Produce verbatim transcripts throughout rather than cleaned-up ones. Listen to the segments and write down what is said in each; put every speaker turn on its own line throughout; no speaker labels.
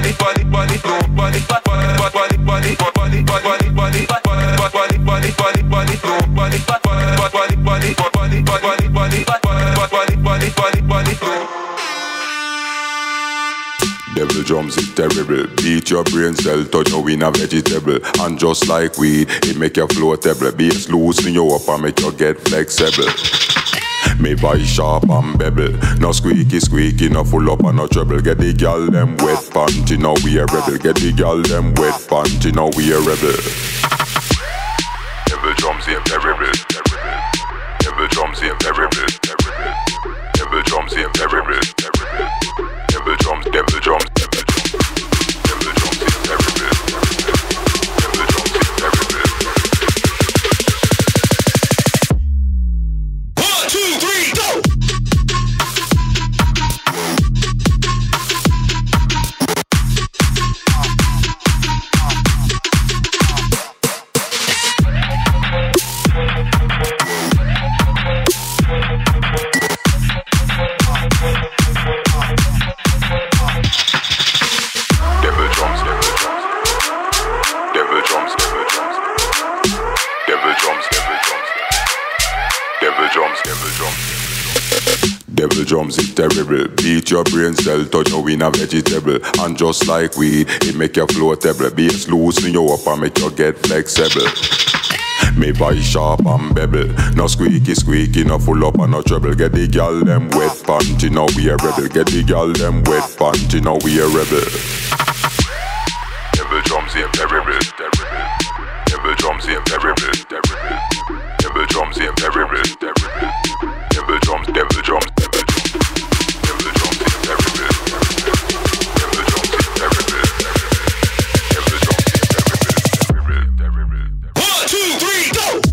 body, body, body, no body, body, body, body, body, body, body, body, body, body, body, body, body, no body, body, body, body, body, body, body, body, body, body, body, body, no.
Devil drums is terrible. Beat your brain cell, turn you in a vegetable. And just like weed, it make you floatable. Bass loosen you up and make you get flexible. Me voice sharp and bevel. No squeaky squeaky, no full up and no trouble. Get the girl them wet panty, now we a rebel. Get the girl them wet panty, now we a rebel. Devil drums is terrible. Devil drums is terrible. Devil drums is terrible. Devil drums, devil drums, devil drums. Devil drums is terrible. Devil drums is terrible. Devil drums is terrible. Beat your brain cell, turn you in a vegetable. And just like weed, it make you floatable. Bass loosen you up and make you get flexible. Me voice sharp and bevel. No squeaky squeaky, no full up and no trouble. Get the girl them wet panty, now we a rebel. Get the girl them wet panty, now we a rebel. Devil drums is terrible. Devil drums is terrible. Devil drums is terrible. Devil drums, devil drums, devil drums. Devil drums is terrible. Devil drums is terrible. Devil drums is terrible. Terrible.
One, two, three, go!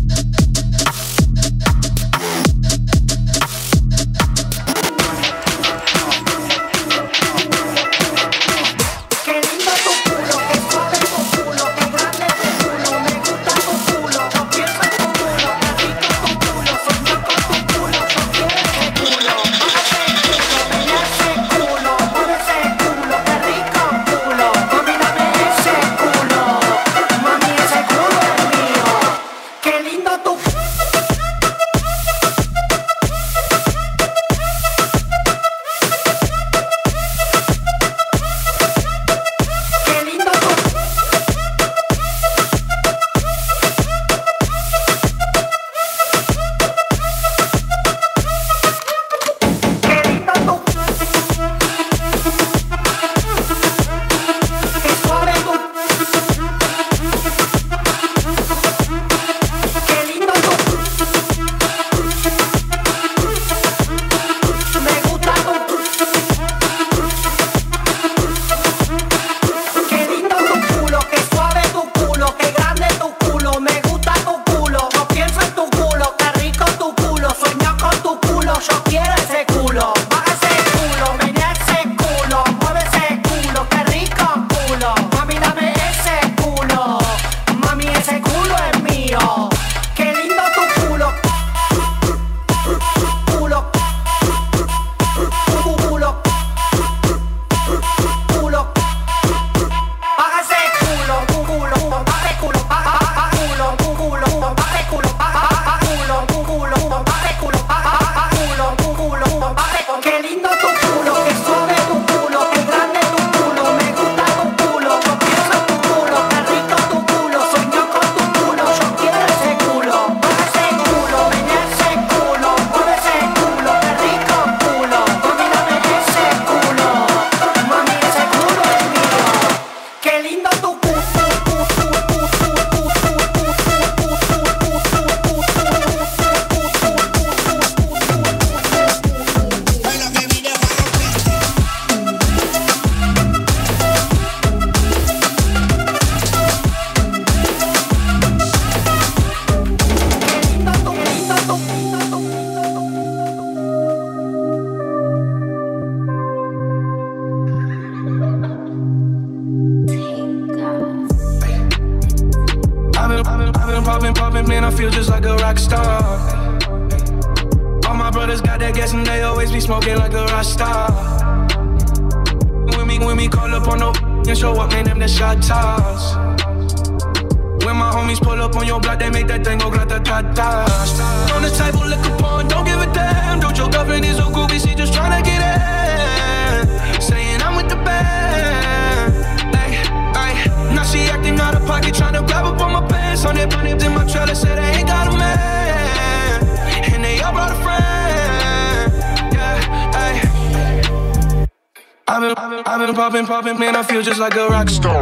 Man, I feel just like a rock star.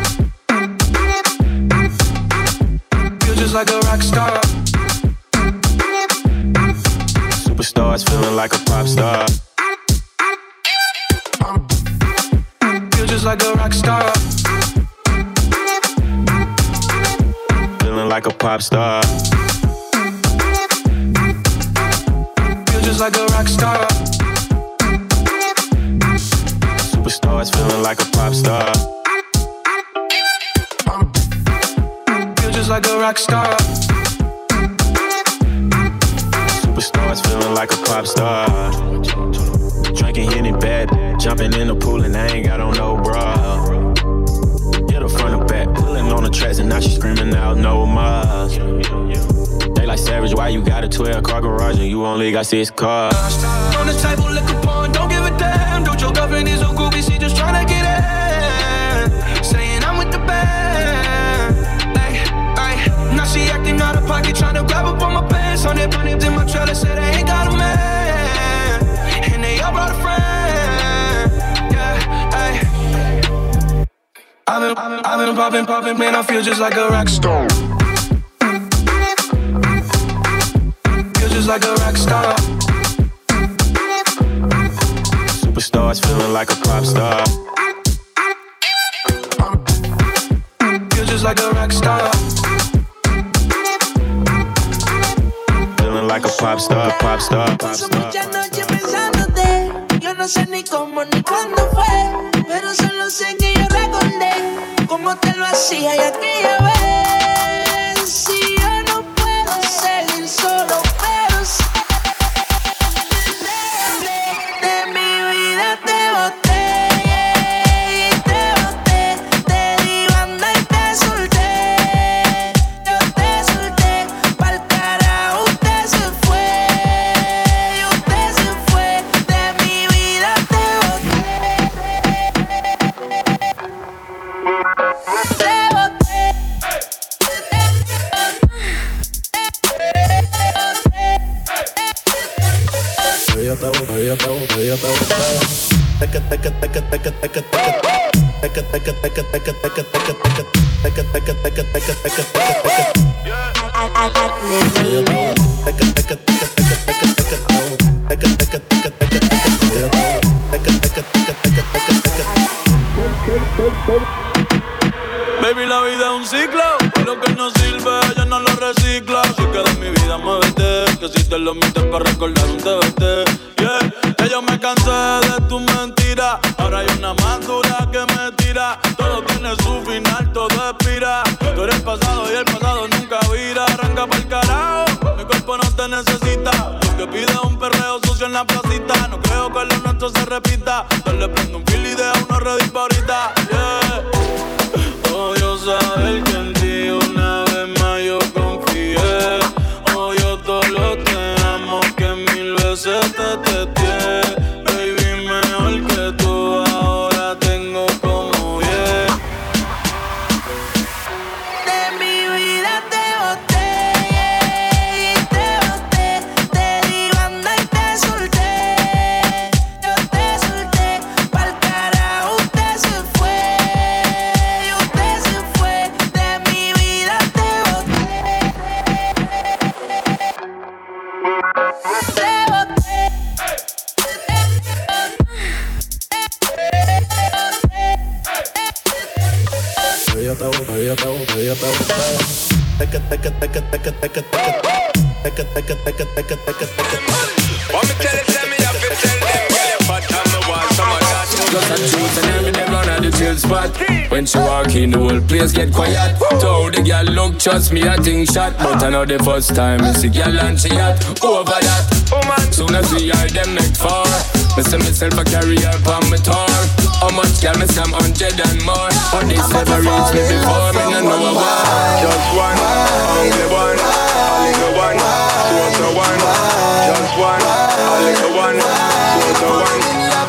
Feel just like a rock star. Superstars feeling like a pop star. Feel just like a rock star. Feeling like a pop star. Feel just like a rock star. Superstars feeling like a pop star. Feel just like a rock star. Superstars feeling like a pop star. Drinking Henny bad, jumping in the pool and I ain't got on no bra. Hit her front and back, pulling on the tracks and now she screaming out no more. They like Savage, why you got a twelve car garage and you only got six cars?
on the table, liquor porn, don't give a damn. Don't your girlfriend is so groovy, she just tryna get in. Saying I'm with the band. Ay, ay. Now she acting out of pocket, tryna grab up on my pants. On their bunnies in my trailer, say they ain't got a man. And they all brought a friend. Yeah, ay. I've been, I've been, I've been popping, popping, man, I feel just like a rock star. Feel just like a rock star.
Superstars feeling like a pop star.
Feel just like a rock star.
Feeling like a pop star, pop star, pop
Paso
star.
muchas noches pensándote. Yo no sé ni cómo ni cuándo fue, pero solo sé que yo recordé cómo te lo hacía y aquella vez. Si yo no puedo seguir solo, pero sé de mi vida te boté y te boté, te di banda y te solté. Yo te solté, pa'l carajo usted se fue y usted se fue, de mi vida te boté. Te boté.
Ella está botada, ella está botada, ella está botada. Teca, teca, teca, teca, teca, teca. Teca, teca, teca, teca, teca, teca, teca. Teca, teca, teca, teca, teca, teca, teca. Ella está botada. Teca, teca, teca, teca, teca, teca. Teca, teca, teca, teca, teca, teca. Ella está botada. Teca, teca, teca, teca, teca, teca.
Baby, la vida es un ciclo, y lo que no sirve ella no lo recicla. Así que de mi vida muévete, que si te lo mientes para recordar un T B T. Yeah, que yo me cansé de tu mentira, ahora hay una más dura que me tira. Todo tiene su final, todo expira. Tú eres el pasado y el pasado nunca vira. Arranca pa'l carajo, mi cuerpo no te necesita. Lo que pide es un perreo sucio en la placita. No creo que lo nuestro se repita. Yo le prendo un fil y deja uno ready pa' ahorita. Yeah. Odio saber que en ti una vez más yo confié. Odio todo lo te amo que mil veces te testé. Baby, mejor que tú ahora tengo como diez.
De mi vida te boté y te boté, te di banda y te solté. Yo te solté, pa'l carajo usted se fue y usted se fue, de mi vida te boté. Te boté.
Ella está botada, ella está botada, ella está botada. Teca, teca, teca, teca, teca, teca. Teca, teca, teca, teca, teca, teca.
Want me tell it, tell me, I feel tell them, girl, you fat and me want some of that.
Just a truth and every day run at the chill spot. When she walk in, the whole place get quiet. Told the girl look, trust me, I think shot. But I know the first time I see girl and she hot. Over that, soon as we are them make far. Me say myself a career on my tour. How much girl me some hundred and more. But this never reached me before, me no know why.
Just one, only one, only the one, so so one. Just one, only the one, so so one.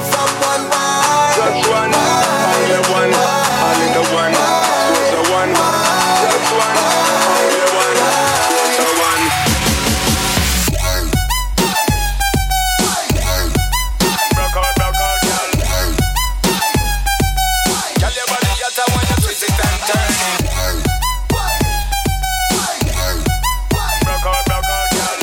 Just one, only one, only the one, so so one. Just one, only one, so so one. Rock out, rock out, girl. Girl, your body hotter when you twist it and turn it. Rock out, rock out, girl.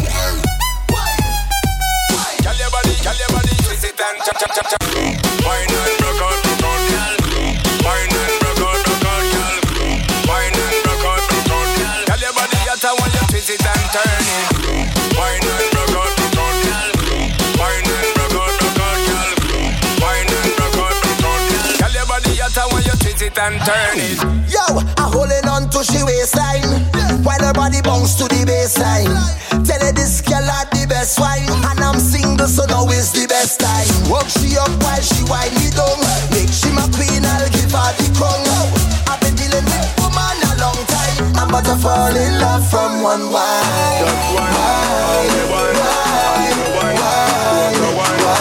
Girl, your body, girl, your body twist it and chop, chop, chop, chop. Wine and rock out, rock out, girl. Wine and rock out, rock out, girl. Wine and rock out, rock out, girl. Girl, your body hotter when you twist it and turn it. Wine and rock out, rock out, girl. Wine and rock out, rock out, girl. Wine and rock out, rock out, girl. Girl, your body hotter when you twist it and turn it.
Yo, I'm holding on to she waistline while her body bounce to the baseline. Tell her this girl had the best wine, and I'm single, so now is the best time. Work she up while she wind me down. Make she my queen, I'll give her the crown. I've been dealing with woman a long time. I'm about to fall in love from one wine.
Just one, only one, only the one, so so one.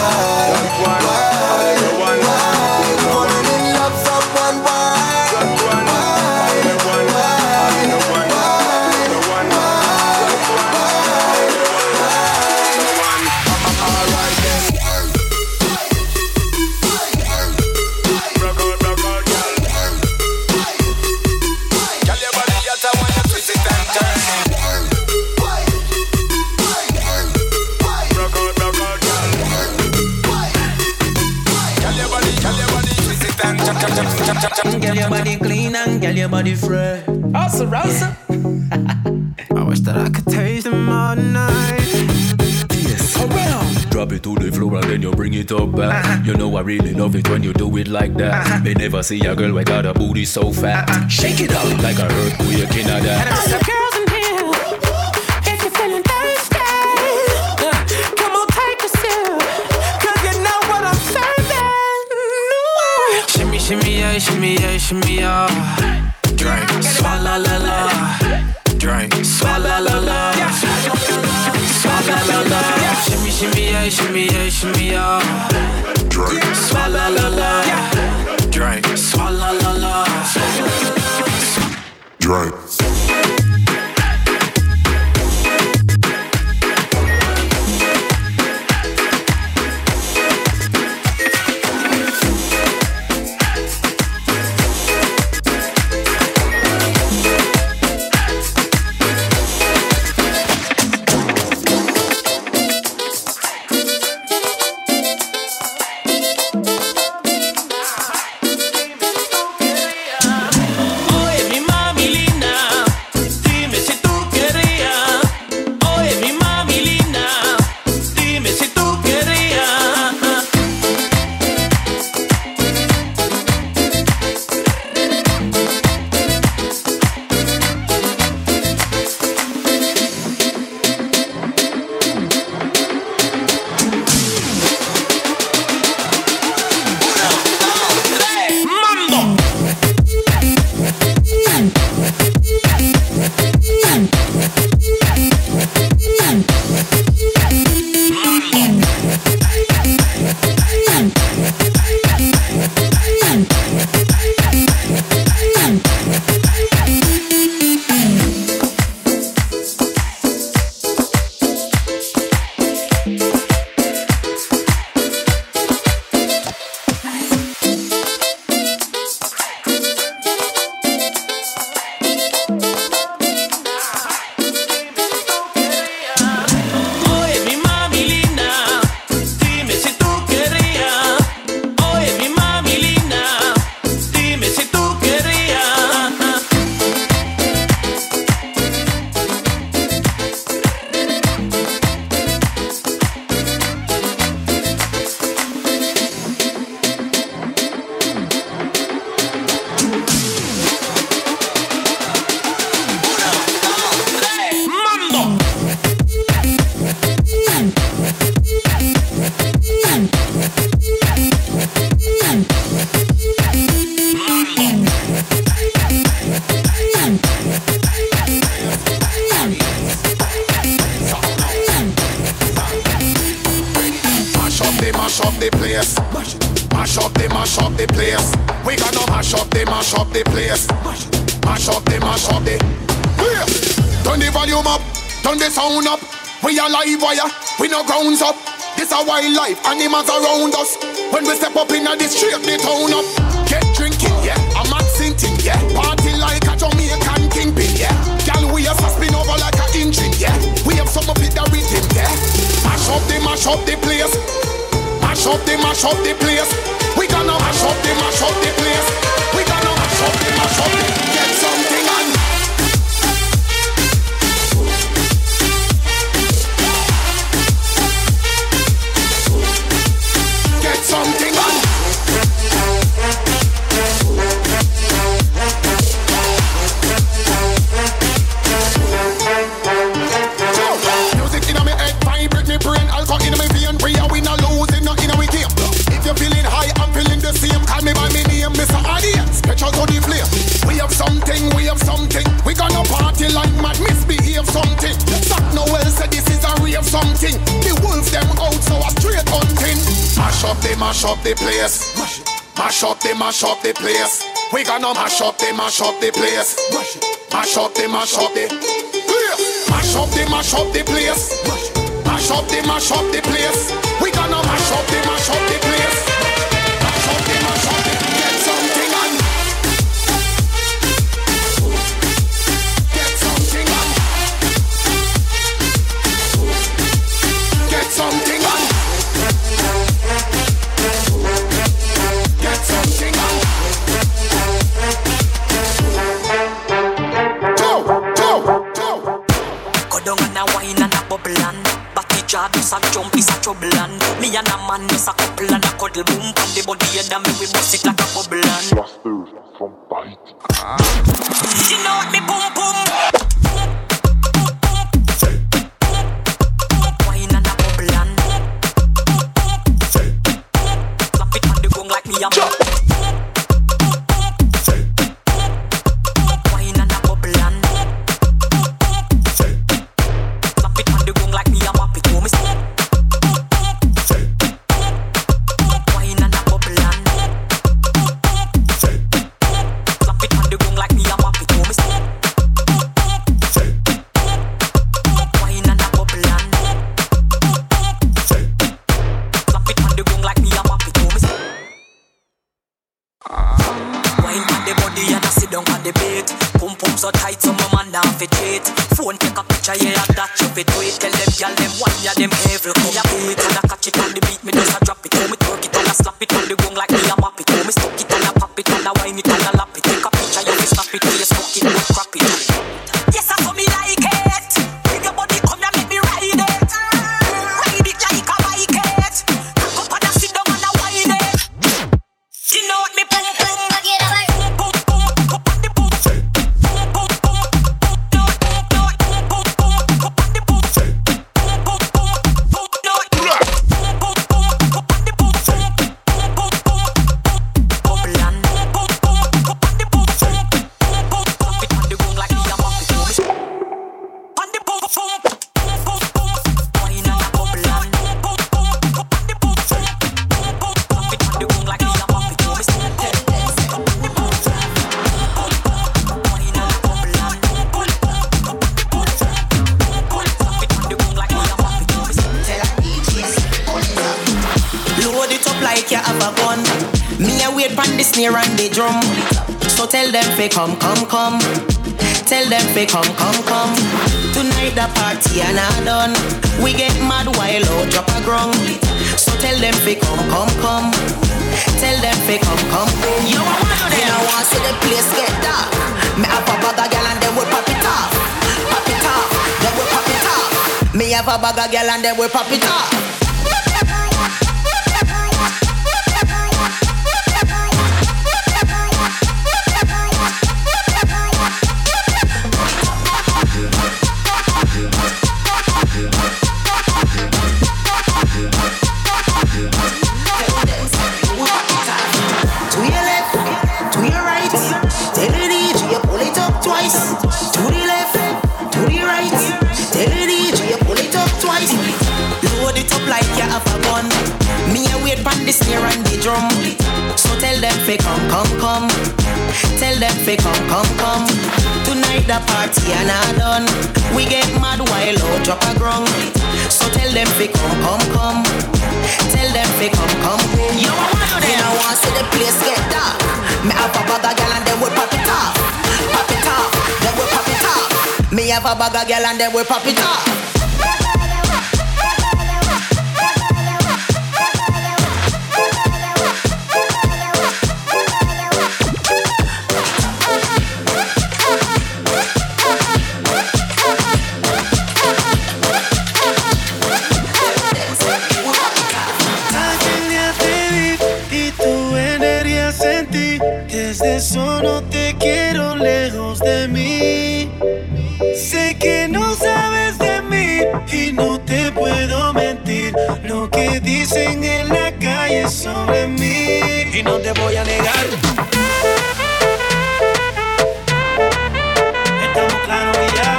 Girl, your body clean and girl, your body fresh. Also, Rosa. I wish that I could taste them all night. Yes. Around.
Drop it to the floor and then you bring it up back. Uh-huh. You know I really love it when you do it like that. Uh-huh. May never see a girl with got a booty so fat. Uh-huh. Shake it up like a earthquake in a that.
All the girls in here, if you're feeling thirsty, uh, come on, take a sip, 'cause you know what I'm serving. No.
Shimmy, shimmy, yeah, shimmy, yeah, shimmy, yeah. Drink, swalla la la. Drink, swalla la la. Swalla la la. Shimmy, shimmy, yeah, shimmy, yeah, shimmy, yeah. Drink, swalla la la. Drink, swalla la la.
Drink.
Wildlife, animals around us. When we step up in the street, they turn up. Get drinking, yeah. I'm not sinting, yeah. Party like a Jamaican kingpin, yeah. Girl, we have spin over like an engine, yeah. We have some of it that rhythm, yeah. Mash up the, mash up the place. Mash up the, mash up the place. We gonna mash up the, mash up the place. We gonna mash up the, mash up the. Get something on. Something on. Music in my head, vibrate me brain, alcohol in my vein. We are winner, losing, not in our game. If you're feeling high, I'm feeling the same. Call me by my name, Mister Audience. Catch out to the flame. We have something, we have something. We gonna party like mad, misbehave something. Zach Noel said this is a real something. The wolves them out, so a straight hunting. Mash up the, mash up the place. Mash, mash up the, mash up the place. We gonna mash up the, mash up the place. Mash, mash up the, mash up the. Mash up the, mash up the place. Mash, mash up the, mash up the place. We gonna mash up the, mash up the place. Mash up the, mash up the. Get something on. Get something on. Get something on. Get something on.
and me and a man just a couple and a cuddle boom. Pon the body and me we bust it like a bubble and
from bite.
You know what me boom boom. Wine and a bubble and slap it on the gong like me a man.
So tight so my man down fit wait. Phone take a picture, yeah, that you fit wait. Tell them, y'all them one, yeah, them every come. Yeah, pull it and I catch it on the beat, me just a drop it. Oh, me twerk it and I slap it on the gong like me a map it. Oh, me stuck it and I pop it and I wine it and I lap it. Take a picture, yeah, me snap it, yeah, smoke it, don't crap it. Yes, I saw me like it. Bring your body, come and make me ride it. Ride it like a bike it. Cock up and I sit down and I wine it. You know what me boom boom.
Snare and the drum. So tell them fi come, come, come. Tell them fi come, come, come. Tonight the party and I done. We get mad while out drop a grung. So tell them fi come, come, come. Tell them fi come, come. Yo, I want to them. I want to see the place get dark. Me have a bag of girl and they will pop it off. Pop it off, they will pop it off. Me have a bag of girl and they will pop it off. The snare and the drum. So tell them fi come, come, come. Tell them fi come, come, come. Tonight the party and I done. We get mad while out drop a grung. So tell them fi come, come, come. Tell them fi come, come. Yo, I want to them. I want to see the place get dark. Me have a bag of girl and they will pop it off. Pop it off, they will pop it off. Me have a bag of girl and they will pop it off.
Desde eso no te quiero lejos de mí. Sé que no sabes de mí y no te puedo mentir. Lo que dicen en la calle sobre mí y no te voy a negar. Estamos claros y ya.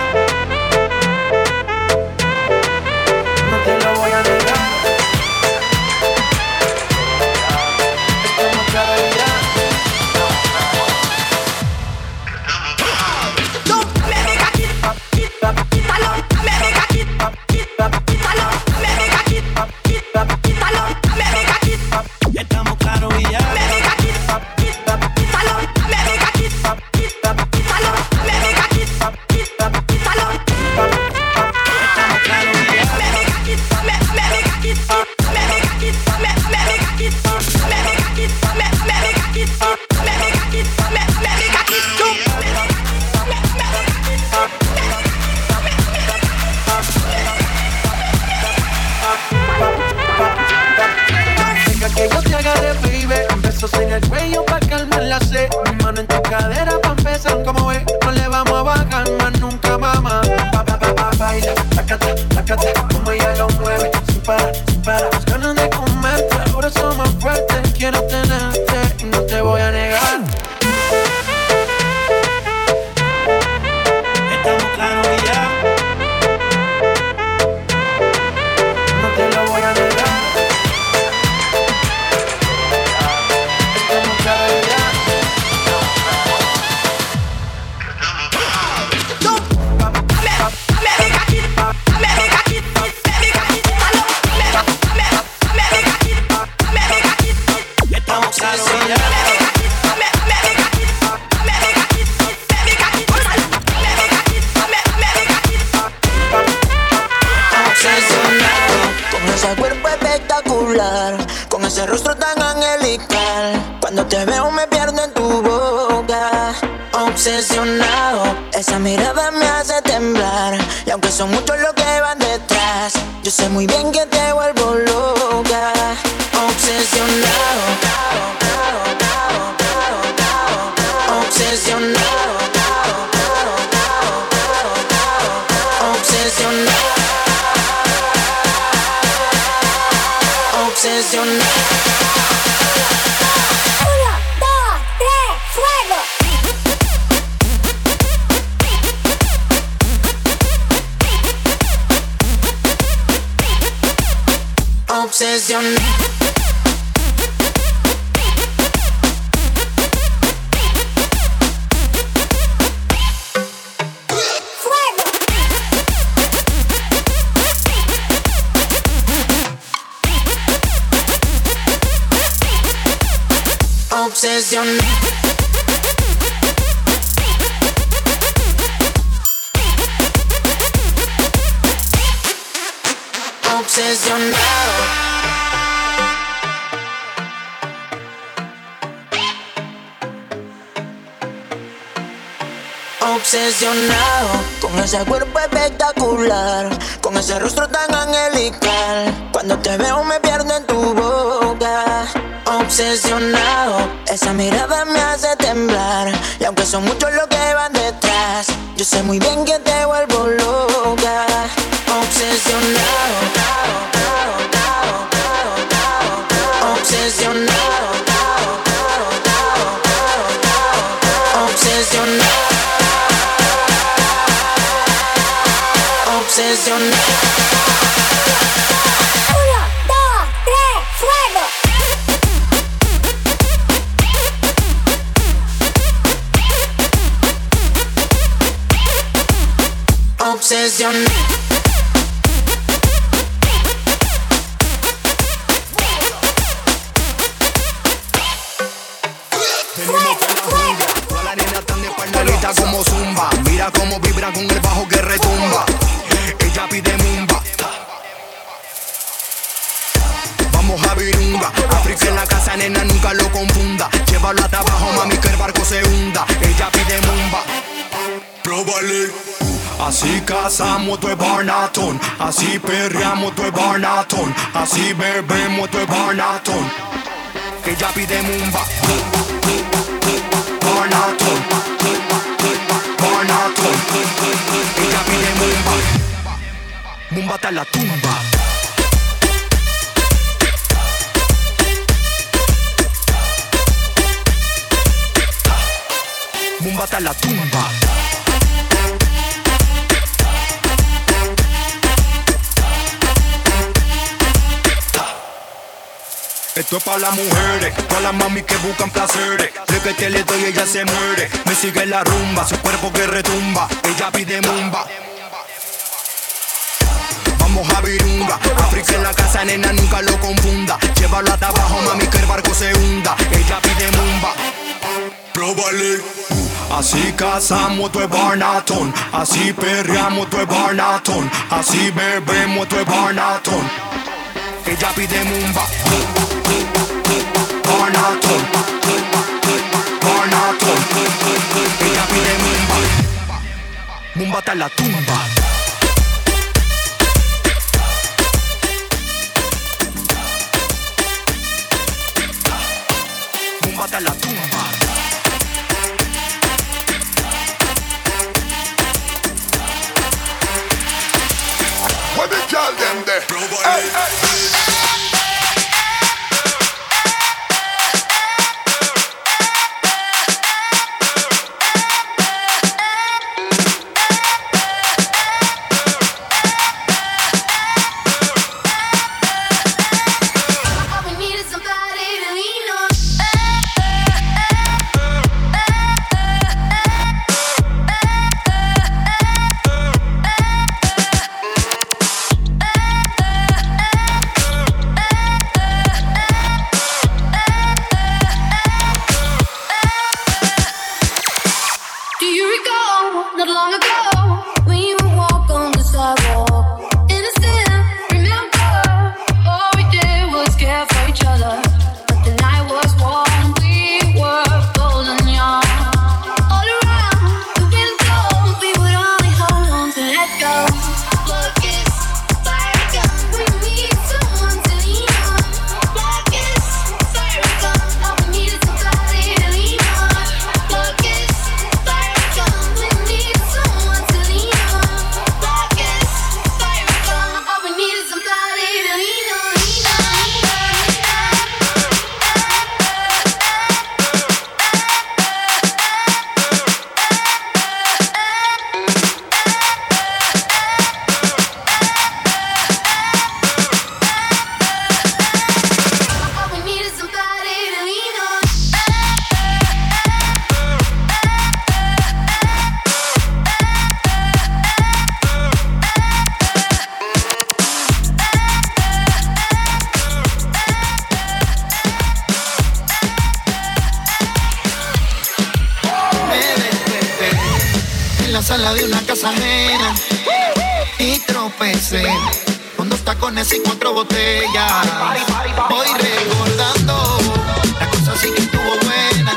No te lo voy a negar. Estamos claros y ya. Estamos claros y ya.
dale, baby. Besos en el cuello pa' calmar la sed. Mi mano en tu cadera pa' empezar, como ves. No le vamos a bajar más nunca, mamá. Pa, pa, pa, pa, baila, tacata, tacata. Como ella lo mueve, sin parar, sin parar. Las ganas de comerte, ahora son más fuertes. Quiero tenerte y no te voy a negar.
Estamos claros y ya.
No te lo voy a negar. Estamos claros y ya.
Estamos claros y ya.
Con ese cuerpo espectacular, con ese rostro tan angelical. Cuando te veo me pierdo en tu boca. Obsesionado, esa mirada me hace temblar. Y aunque son muchos los que van detrás, yo sé muy bien que te vuelvo loca. Obsesionado, obsesionado, obsesionado. Obsesionado.
Uno, dos, tres, fuego.
Obsesionado. Obsesionado. Obsesionado. Obsesionado con ese cuerpo espectacular, con ese rostro tan angelical. Cuando te veo me pierdo en tu boca. Obsesionado, esa mirada me hace temblar. Y aunque son muchos los que van detrás, yo sé muy bien que te vuelvo loca. Obsesionado, obsesionado, obsesionado, obsesionado.
Uno, dos, tres, fuego.
Obsesionado.
Todas las nenas están de espaldalita como zumba. Mira cómo vibran con el bajo que retumba. Ella pide mumba. Vamos a virunga. África en la casa, nena, nunca lo confunda. Llévalo hasta abajo, mami, que el barco se hunda. Ella pide mumba. Próbale. Así cazamos tu barnatón, así perreamos tu barnatón, así bebemos tu barnatón. Ella pide mumba. Barnatón, barnatón. Ella pide mumba. Mumba hasta la tumba. Mumba hasta la tumba. Esto es para las mujeres, para las mami que buscan placeres. De que te le doy ella se muere. Me sigue la rumba, su cuerpo que retumba. Ella pide mumba. Vamos a virunga. África en la casa, nena, nunca lo confunda. Llévalo hasta abajo, mami, que el barco se hunda. Ella pide mumba. Próbale. Así cazamos tu barnatón, así perreamos tu barnatón, así bebemos tu barnatón. Ella pide mumba. Barnatón, barnatón. Ella pide mumba. Mumba hasta la tumba.
hasta la tumba.
What the girl them there? Hey, hey.
Sala de una casa ajena y tropecé con dos tacones y cuatro botellas. Voy recordando, la cosa sí que estuvo buena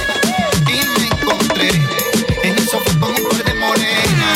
y me encontré en el sofá con un par de morenas.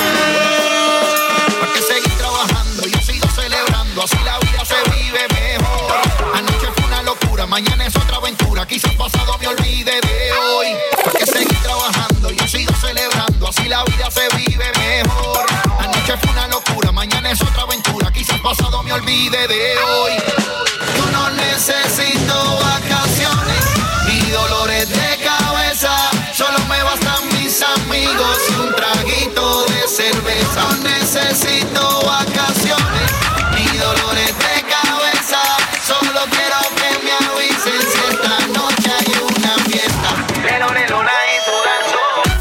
¿Para qué seguir trabajando? Yo sigo celebrando, así la vida se vive mejor. Anoche fue una locura, mañana es otra aventura. Quizás pasado me olvide de hoy. ¿Para qué seguir trabajando? Yo sigo celebrando, así la vida se vive mejor. Anoche fue una locura, mañana es otra aventura. Quizás pasado me olvide de hoy. Yo no necesito vacaciones ni dolores de cabeza. Solo me bastan mis amigos y un traguito de cerveza. No necesito vacaciones ni dolores de cabeza. Solo quiero que me avisen si esta noche hay una fiesta. Pero de luna y sudando.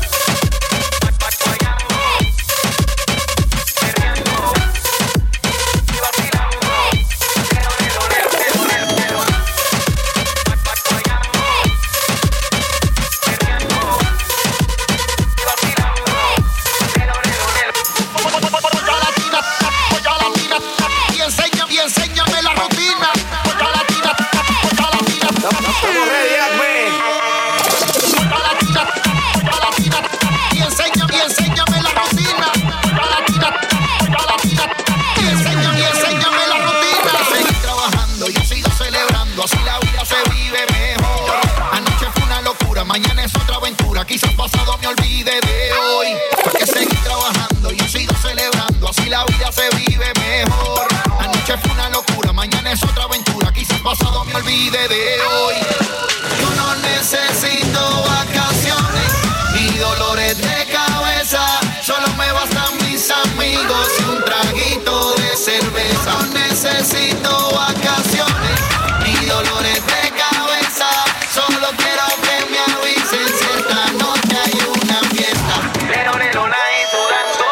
Mañana es otra aventura, quizás pasado me olvide de hoy. Porque seguir trabajando, yo sigo celebrando, así la vida se vive mejor. Anoche fue una locura, mañana es otra aventura, quizás pasado me olvide de hoy. Yo no necesito vacaciones ni dolores de cabeza. Solo me bastan mis amigos y un traguito de cerveza. No necesito vacaciones ni dolores de cabeza. Solo quiero que me avisen si esta noche hay una fiesta. Pero de luna y sudando.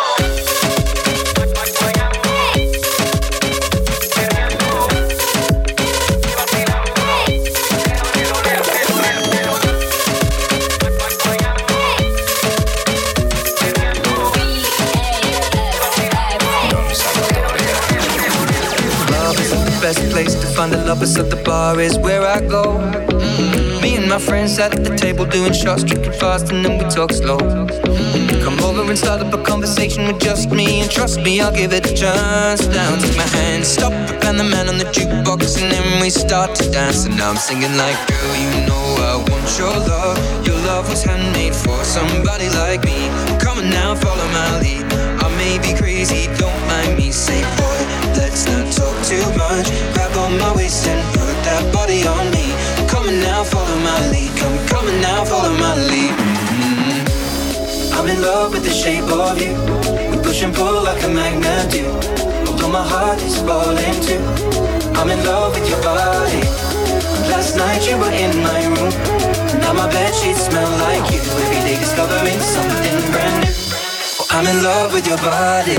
Best place to find the lovers at the bar is where I go. Mm-hmm. Me and my friends sat at the table doing shots, drinking fast, and then we talk slow. Mm-hmm. Come over and start up a conversation with just me, and trust me, I'll give it a chance. Down, take my hand, stop it, and the man on the jukebox, and then we start to dance. And now I'm singing like, girl, you know I want your love. Your love was handmade for somebody like me. Come on now, follow my lead. I may be crazy, don't mind me. Say boy, let's not talk too much. Grab on my waist and put that body on me. Come on now, follow my lead. Come, come on now, follow my lead. Mm-hmm. I'm in love with the shape of you. We push and pull like a magnet do. Although my heart is falling too. I'm in love with your body. Last night you were in my room. Now my bedsheets smell like you. Every day discovering something brand new. Oh, I'm in love with your body.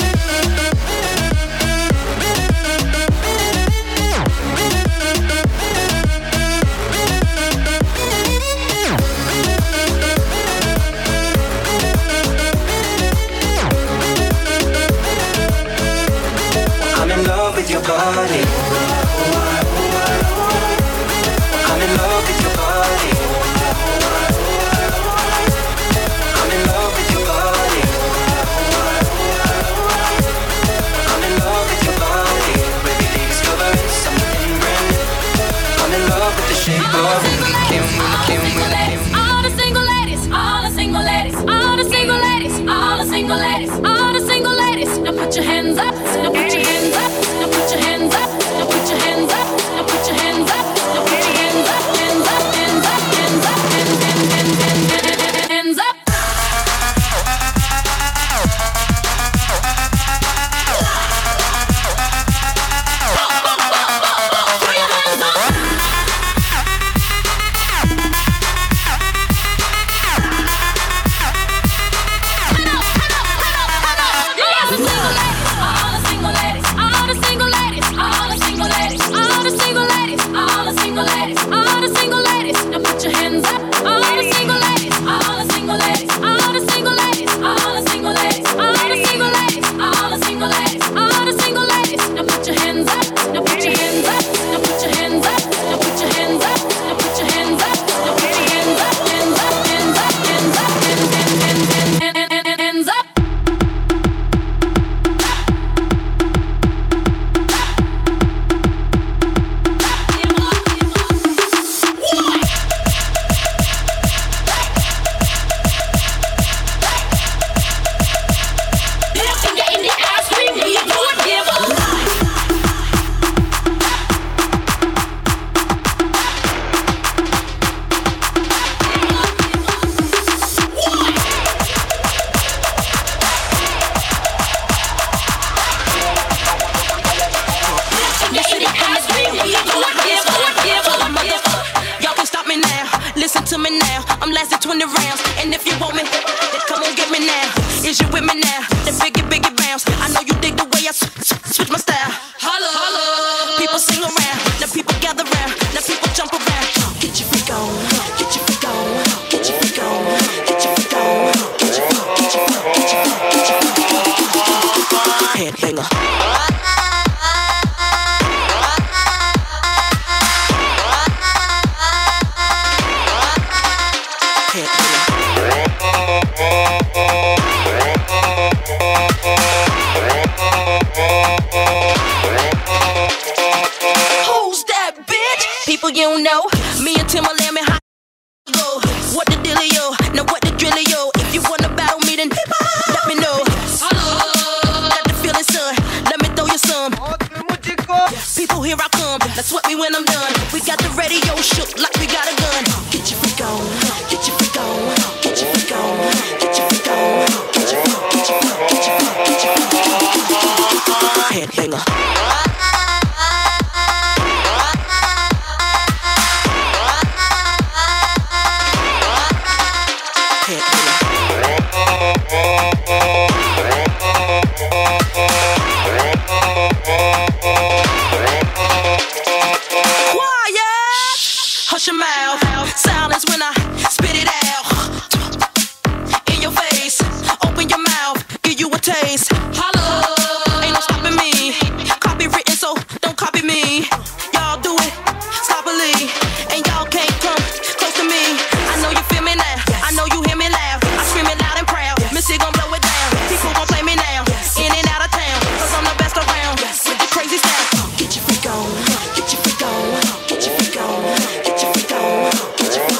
I'm in love with your body. I'm in love with your body. I'm in love with your body. I'm in love with your body. Every day discovering something brand new. I'm in love with the shape of you.
All the single ladies, all the single ladies, all the single ladies, all the single ladies, all the single ladies. Now put your hands up, now put your hands up, now put your hands up, now put your hands up, now put your hands up, now put your hands up, hands up, hands up, hands up, hands, hands, hands, hands, hands, hands up.
Get your freak on, get your freak on, get your freak on, get your freak on.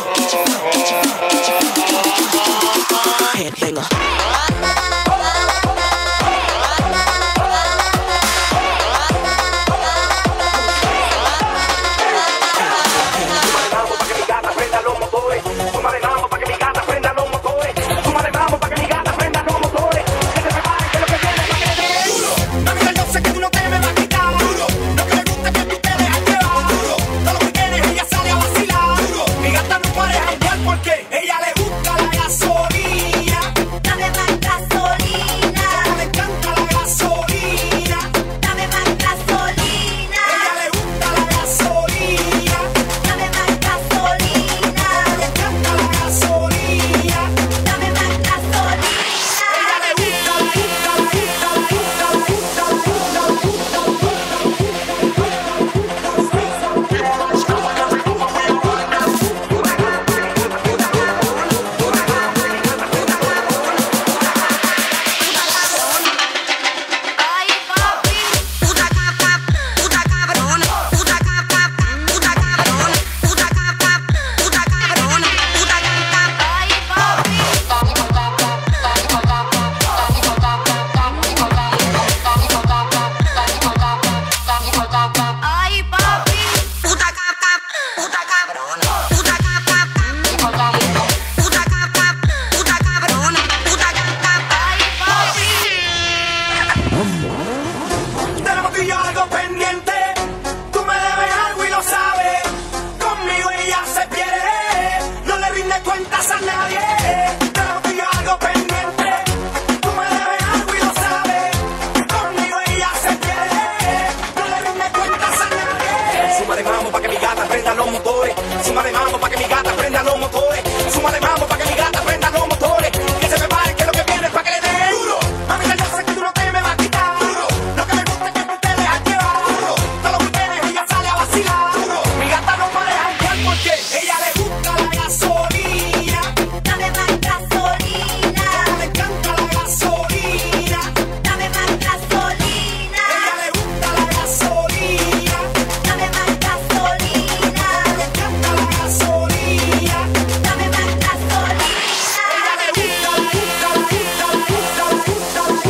gata prenda los motores. Súmale mambo pa' que mi gata prenda los motores. Súmale mambo pa' que mi gata prenda los motores. Que se prepare que lo que viene es pa' que le den duro. Mami, yo sé que tú no te me vas a quitar duro. Lo que me gusta es que tú te dejas llevar duro. Todos los weekends ella sale a vacilar duro. Mi gata no me deja guiar porque ella le gusta la gasolina.
Dame más gasolina.
Me encanta la gasolina.
Dame más gasolina.
Ella le gusta la gasolina.
Dame más gasolina.
Me encanta la gasolina.
Dame más gasolina.
Ella le gusta, le gusta, le gusta, le gusta, le gusta, le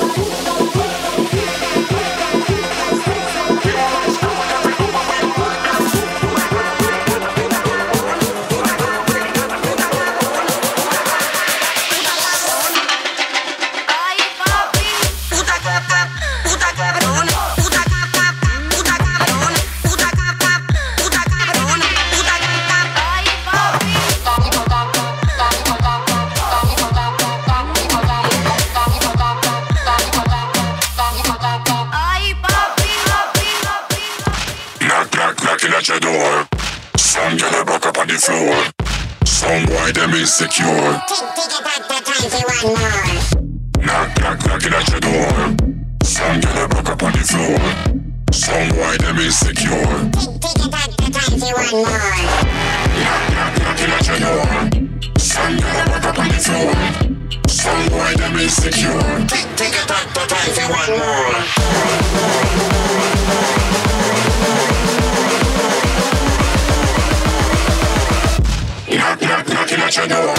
Ay, papi.
Puta gata, puta cabrona, puta gata, puta cabrona, puta gata, puta cabrona, puta gata.
Ay, papi. Ay, papi, papi, papi.
Knock, knock, knocking at your door. Some girl a buck up on the floor. Some boy them insecure. Knock, knock, knocking at your door. Some girl a buck up on the floor. Some boy them insecure. Knock, knock, knocking at your door. Some girl a buck up on the floor. Some boy them insecure. Take it back to time for one more. Knock, knock, knocking at your door.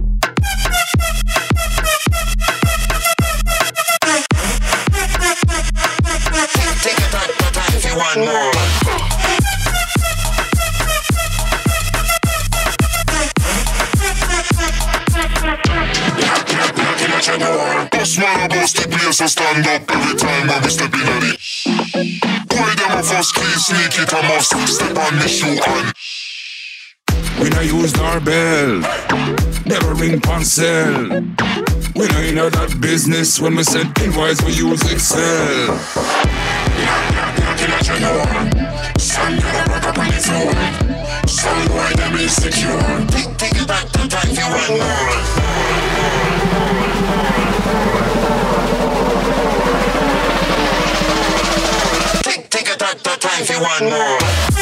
Take it back to time for one more. Knock, knock, knocking at your door. Boss man, boss the place, so stand up every time when we step in at it. Boy, them a first key, sneak it, I must step on the shoe and
we no use doorbell, never ring pancel. We no in that business. When we send invoice, we use Excel.
knock, knock, knocking at your door. Some girl a rock up on the floor. Some boy them insecure. Take, take it back to time for one more. Take, take it back to time for one more.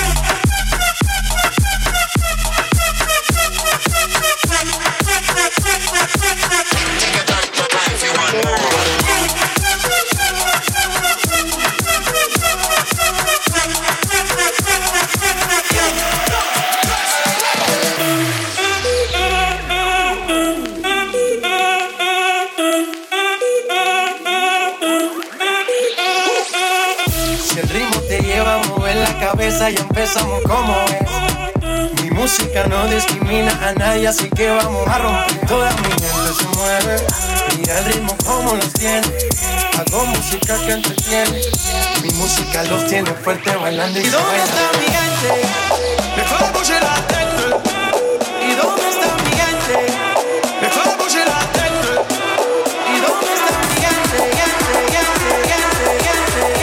Si el ritmo te lleva a mover la cabeza, ya empezamos como es. Mi música no discrimina a nadie, así que vamos a romper. Toda mi gente se mueve, mira el ritmo como los tiene. Hago música que entretiene, mi música los tiene fuerte bailando y ¿y dónde está mi gente? Me fue a bouger la tête. ¿Y dónde está mi gente? Me fue a bouger la tête. ¿Y dónde está mi gente? Gente, gente, gente, gente, gente,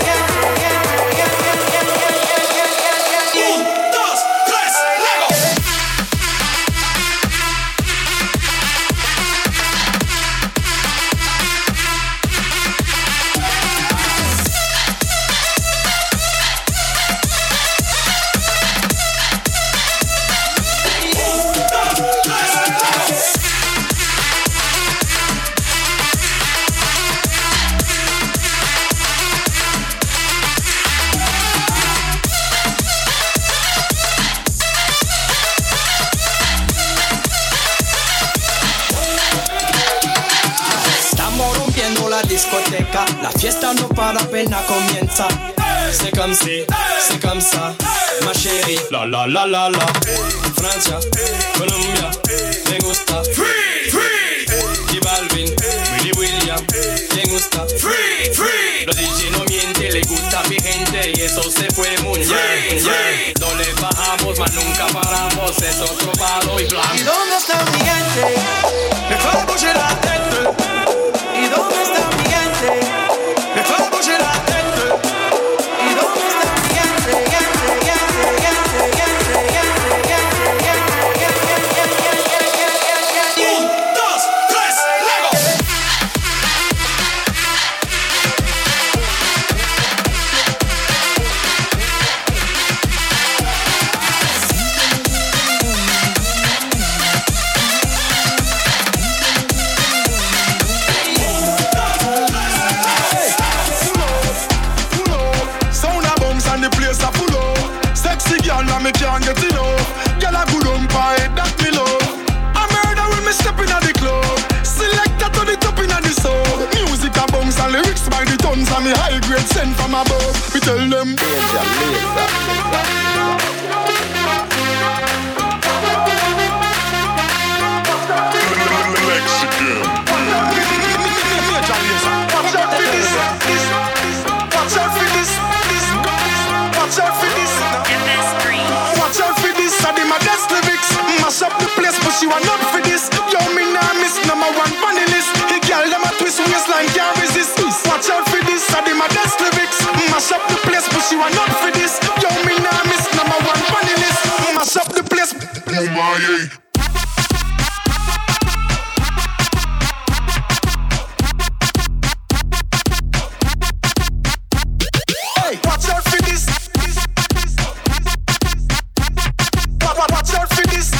discoteca, la fiesta no para, apenas comienza. C'est comme si, c'est comme ça, ma chérie. La la la la la. Francia, Colombia, me gusta. Free, free. J Balvin, Willy William, me gusta. Free, free. Los D J no mienten, le gusta a mi gente y eso se fue muy bien. No le bajamos, mas nunca paramos, es otro palo y blanco. ¿Y dónde está mi gente? Me fue a bouger la tête. ¿Y dónde está mi gente? Me fue a bouger la tête. ¿Y dónde está mi gente? Gente, gente, gente, gente.
can't get enough. Girl a good on pie, that me love. A murder when me step in at the club. Selector to the top in at the sub. Music a bounce and lyrics by the tons. And me high grade sent from above. We tell them Danger, laser.
Mexican.
Watch out for this, this, watch out for this, this, watch out for this. Watch out for this, I did my best lyrics. Mash up the place, but she want not for this. Yo, me nah miss number one funny list. The girl them a twist waistline can't resist. Watch out for this, I did my best lyrics. Mash up the place, but she want not for this. Yo, me nah miss number one funny list. Mash up the place. Oh my yeah. Watch out for this. Watch out for this.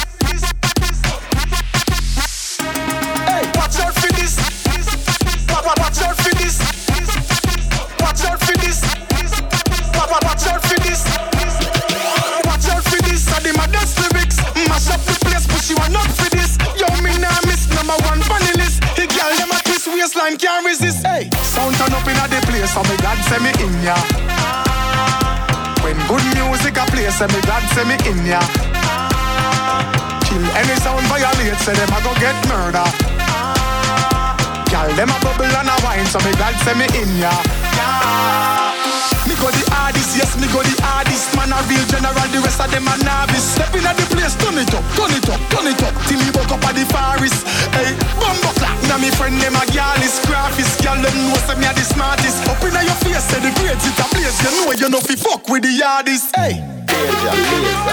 Hey, watch out for this. Watch out for this. Watch out for this. Watch out for this. Watch out for this. I did my dance lyrics. Mash up the place, but she want not for this. Yo, me nah miss number one funny list. The girl them a twist waistline can't resist. Hey, sound turn up inna the place, so me God send me in ya. When good music a play, say me God say me in ya. Kill any sound violate, say them a go get murder. Girl, them a bubble and a wine, so me God say me in ya. Me go the hardest, yes, me go the hardest. Man a real general, the rest of them a novice. Step in at the place, turn it up, turn it up, turn it up. Till me woke up at the forest. Hey, bumbo clap, now me friend them a girl is graphist. Girl, them know say me a the smartest. Up in your face, say the grades it a place. You know you know fi fuck with the hardest. Hey, danger, laser.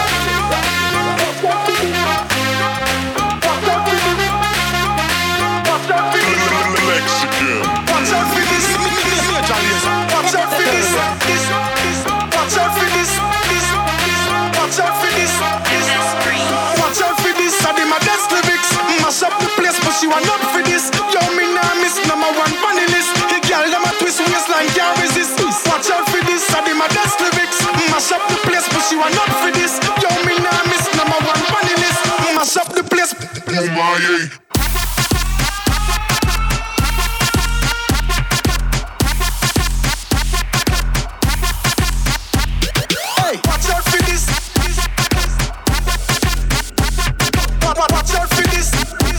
Mexican.
Watch out for this, major laser. Watch out for this, this, this. Watch out for this, this, this. Watch out for this, this. Watch out for this, I did my best lyrics. Mash up the place, but she want not for this. Yo, me nah miss number one funny list. The girl them a twist waistline can't resist. Watch out for this, I did my best lyrics. Mash up the place, but she want not for this. Yo, me nah miss number one funny list. Mash up the place. Oh my yeah. Watch out for this. Watch out for this.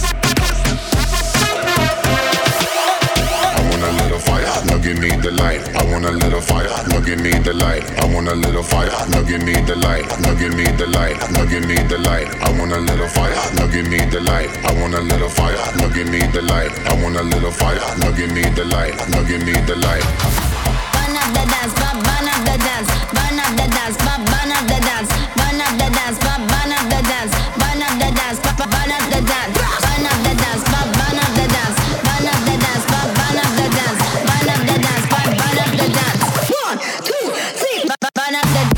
I want a little fire, now give me the light. I want a little fire, now give me the light. I want a little fire, now give me the light. Now give me the light, now give me the light. I want a little fire, now give me the light. I want a little fire, now give me the light. I want a little fire, now give me the light. Now give me the light.
Burn up the dance, burn up the dance, burn up the dance, burn up the dance, burn up the dance, burn up the dance, burn up the dance, burn up the dance, burn up the dance, burn up the dance, burn up the dance, burn up the dance, burn up the dance, burn up the dance. One, two, three, burn up the,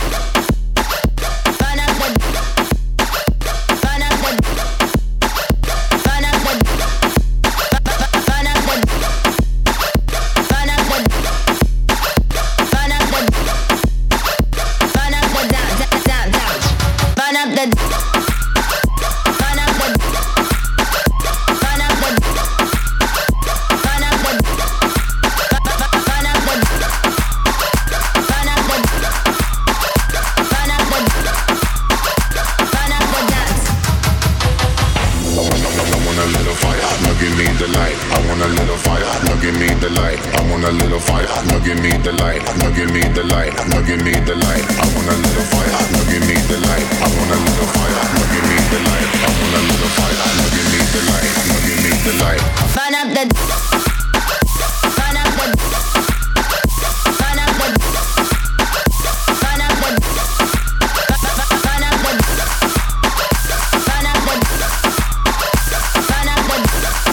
burn up the, burn up the, burn up the, burn up the, burn up the. Burn up the, burn up the dance, dance, dance. Burn up the, burn up the, burn up the, burn up the, burn up the, burn up the, burn up the, burn up the dance.
I want, I want a little fire, now give me the light. I want a little fire, now give me the light. I want a little fire, now give me the light. Now give me the light, now give me the light. I want a little fire, now give me the light. I want a little fire, now give me the light. I want a little fire, now give me the light. Now give me the light.
Burn up the, burn up the, burn up the, burn up the, burn up the, burn up the, burn up the,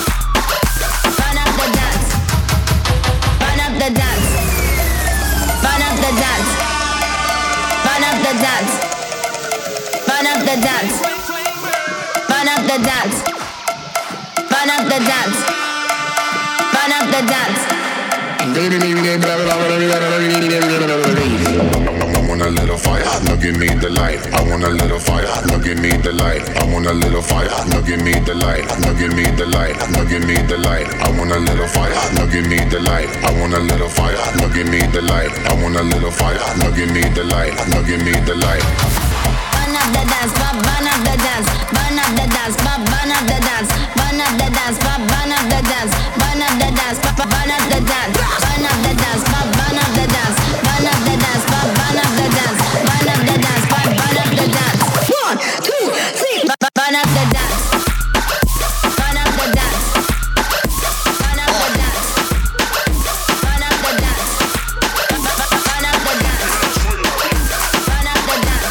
burn up the dance, burn up the dance, burn up the dance, burn up the dance, burn up the dance, burn up the dance. Burn up the dance. Burn up the dance.
want a little fire, now give me the light. I want a little fire, now give me the light. I want a little fire, now give me the light. Now give me the light, now give me the light. I want a little fire, now give me the light. I want a little fire, now give me the light. I want a little fire, now give me the light. Now give me the light.
Burn up the dance, burn up the dance, burn up the dance, burn up the dance, burn up the dance, burn up the dance, burn up the dance, burn up the dance, burn up the dance, burn up the dance, burn up the dance, burn up the dance, burn up the dance, burn up the dance. One, two, three, burn up the dance, burn up the dance, burn up the dance, burn up the dance, burn up the dance, burn up the dance.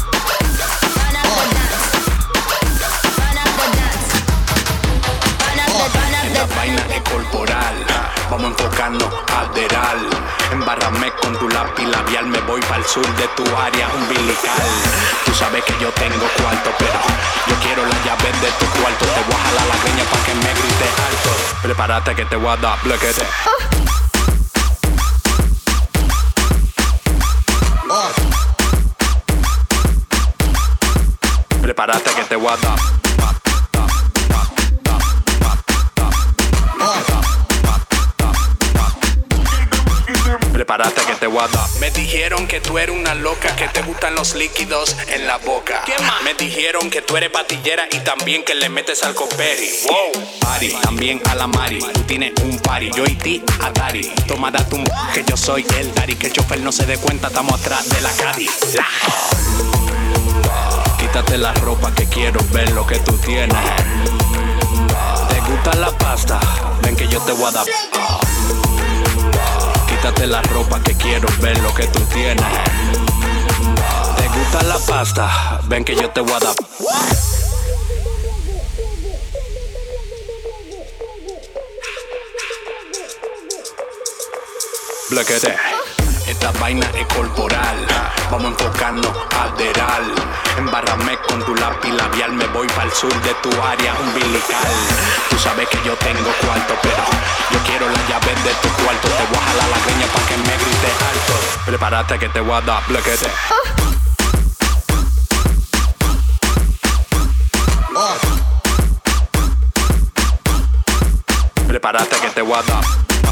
Esta vaina es corporal, vamos enfocando lateral. Embárrame con tu lápiz labial, me voy para el sur de tu área umbilical. Tú sabes que yo tengo cuarto, pero yo quiero la llave de tu cuarto. Te voy a jalar la greña pa' que me grites alto. Prepárate que te voy a dar bloquete. Prepárate que te voy a dar. Prepárate que te voy a dar. Me dijeron que tú eres una loca, que te gustan los líquidos en la boca. ¿Qué más? Me dijeron que tú eres patillera y también que le metes al coperi. Wow. Party, también a la Mari. Tú tienes un party, yo y ti a Dari. Toma da tu m que yo soy el Dari. Que el chofer no se dé cuenta, estamos atrás de la Caddy. La. Quítate la ropa que quiero ver lo que tú tienes. ¿Te gusta la pasta? Ven que yo te voy a dar. Quítate la ropa que quiero ver lo que tú tienes. ¿Te gusta la pasta? Ven que yo te voy a dar. Bloquete. Esta vaina es corporal, vamos enfocando lateral. Embárrame con tu lápiz labial, me voy para el sur de tu área umbilical. Tú sabes que yo tengo cuarto, pero yo quiero la llave de tu cuarto. Te voy a jalar la greña pa' que me grites alto. Prepárate que te voy a dar bloquete. Prepárate que te voy a dar.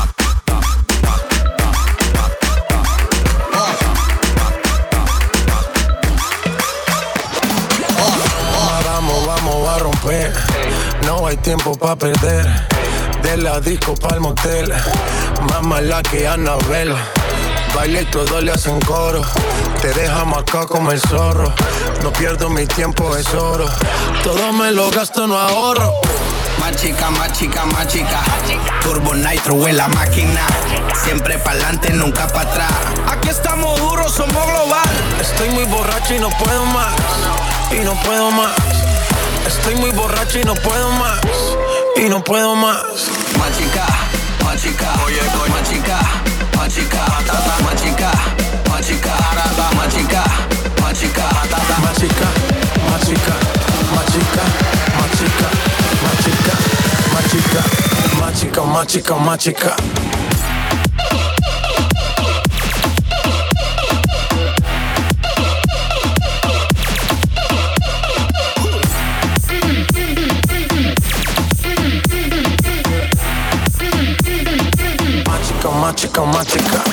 Vamos a romper, no hay tiempo pa' perder. De la disco pa'l motel, más mala que Annabelle. Baile y todos le hacen coro, te deja marcado como el zorro. No pierdo mi tiempo, es oro, todo me lo gasto, no ahorro.
Más chica, más chica, más chica. Turbo Nitro en la máquina. Siempre pa'lante, nunca pa' atrás. Aquí estamos duros, somos global.
Estoy muy borracho y no puedo más, y no puedo más. Estoy muy borracho y no puedo más, y no puedo más.
Más chica, más chica, oye, oye. Más chica, más chica, más chica, más chica, más chica, más chica,
más chica, más chica, más chica, más chica, más chica, más chica, más chica, más chica, más chica. Más chica, más chica.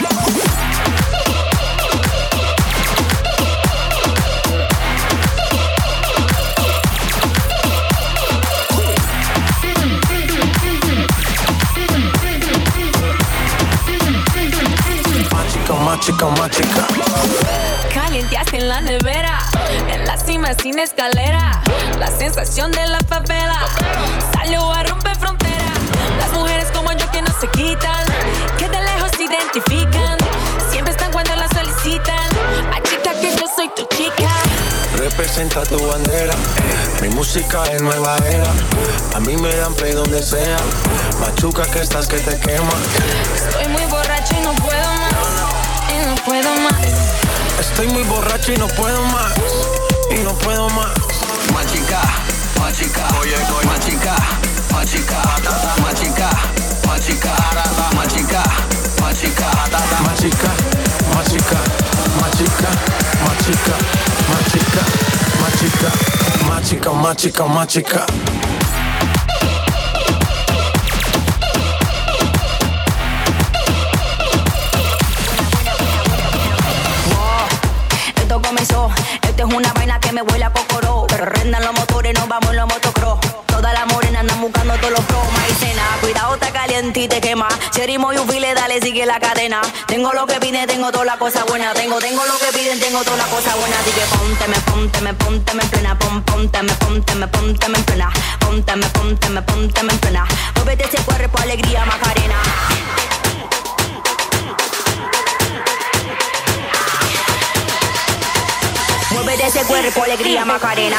Más chica, más chica.
Calienteaste en la nevera, en la cima sin escalera. La sensación de la favela salió a romper frontera. Las mujeres como yo que no se quitan, que de lejos se identifican, siempre están cuando la solicitan. Ay, chica, que yo soy tu chica.
Representa tu bandera, mi música es nueva era. A mí me dan play donde sea, machuca que estás que te quema.
Estoy muy borracho y no puedo más, y no puedo más.
Estoy muy borracho y no puedo más, y no puedo más.
Más chica, más chica, oye, oye. Más chica, más chica, más chica, más chica, más chica, más chica,
machica, machica, machica, machica, machica, machica.
Esto comenzó, esto es una vaina que me huele a cocoró. Pero rendan los motores, nos vamos en los motocross. Todas las morenas andan buscando todos los pros. Maicena, cuidado, está caliente y te quema. Cherimo y ufile, dale, sigue la cadena. Tengo lo que piden, tengo toda la cosa buena. Tengo, tengo lo que piden, tengo toda la cosa buena. Así que pónteme, pónteme, pónteme en plena. Pon, pónteme, pónteme, pónteme en plena. Pónteme, pónteme, pónteme en plena. Muévete ese cuerpo, alegría, Macarena. Muévete ese cuerpo, alegría, Macarena.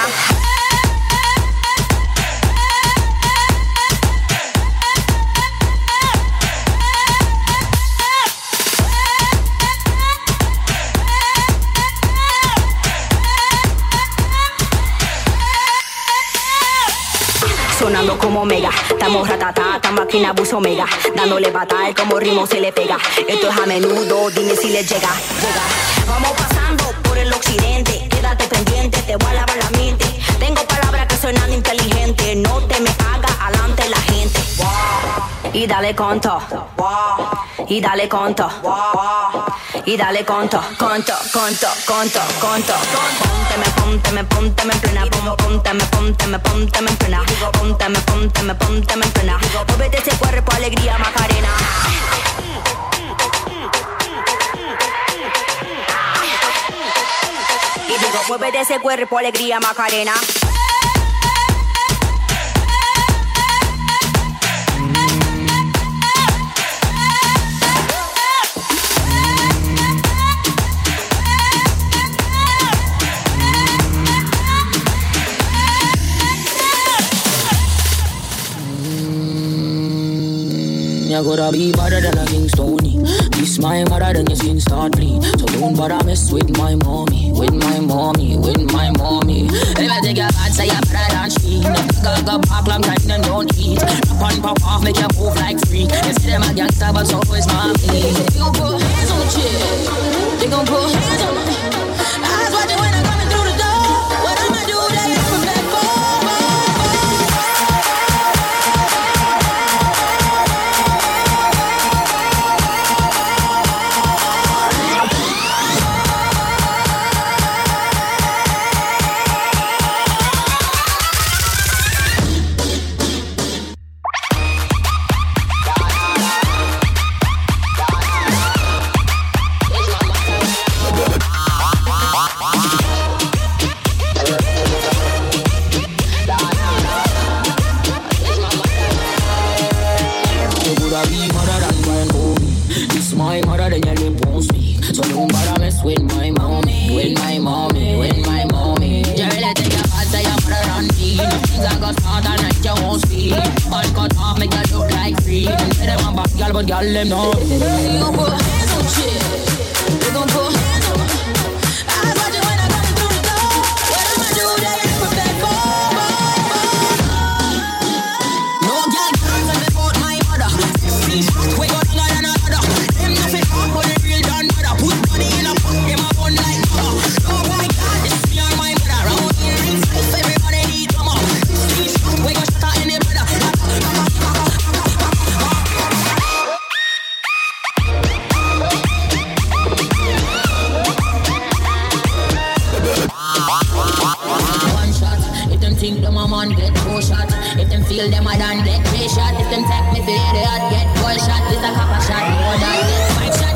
Sonando como mega, estamos ratatá, esta máquina bus omega, dándole batalla como ritmo se le pega. Esto es a menudo, dime si le llega, llega. Vamos pasando por el occidente, quédate pendiente, te voy a lavar la mente. Tengo palabras que suenan inteligentes, no te me hagas alante la gente. Y dale conto, y dale conto, y dale conto, conto, conto, conto, conto. Pónteme, pónteme, pónteme en plena, pónteme, pónteme, pónteme en plena, pónteme, pónteme, pónteme en plena. Muévete ese cuerpo, alegría, Macarena. Y digo, muévete ese cuerpo, alegría, Macarena.
You gotta be better than a King Stony. This my mother, then your skin start bleed. So don't bother mess with my mommy, with my mommy, with my mommy. If I take your bad, say you're better than she. No go go back, long time and don't eat. Rap on pop off, make you move like free. They say them a gangster, but so is mommy. They gon' put hands on the chick. They gon' put hands on the. Eyes watching when I'm coming through the door. What I'ma do, they gon' prepare for. But y'all them know they gon' put hands on shit. They gon' put hands on. I watch it when I come through the door. What I'ma do, they ain't prepared for. No girl comes and they put my mother. We got longer than another. Them nothing hard, but they real done mother. Put money in a pot, them a bun like mother. Oh my God, this is me and my mother. Round here in life, everybody need drama. We got shut out in the brother. Think them a man get four shot. If them feel them a done get three shot. If them take me for the hot get four shot. This a couple shot more than get five shot.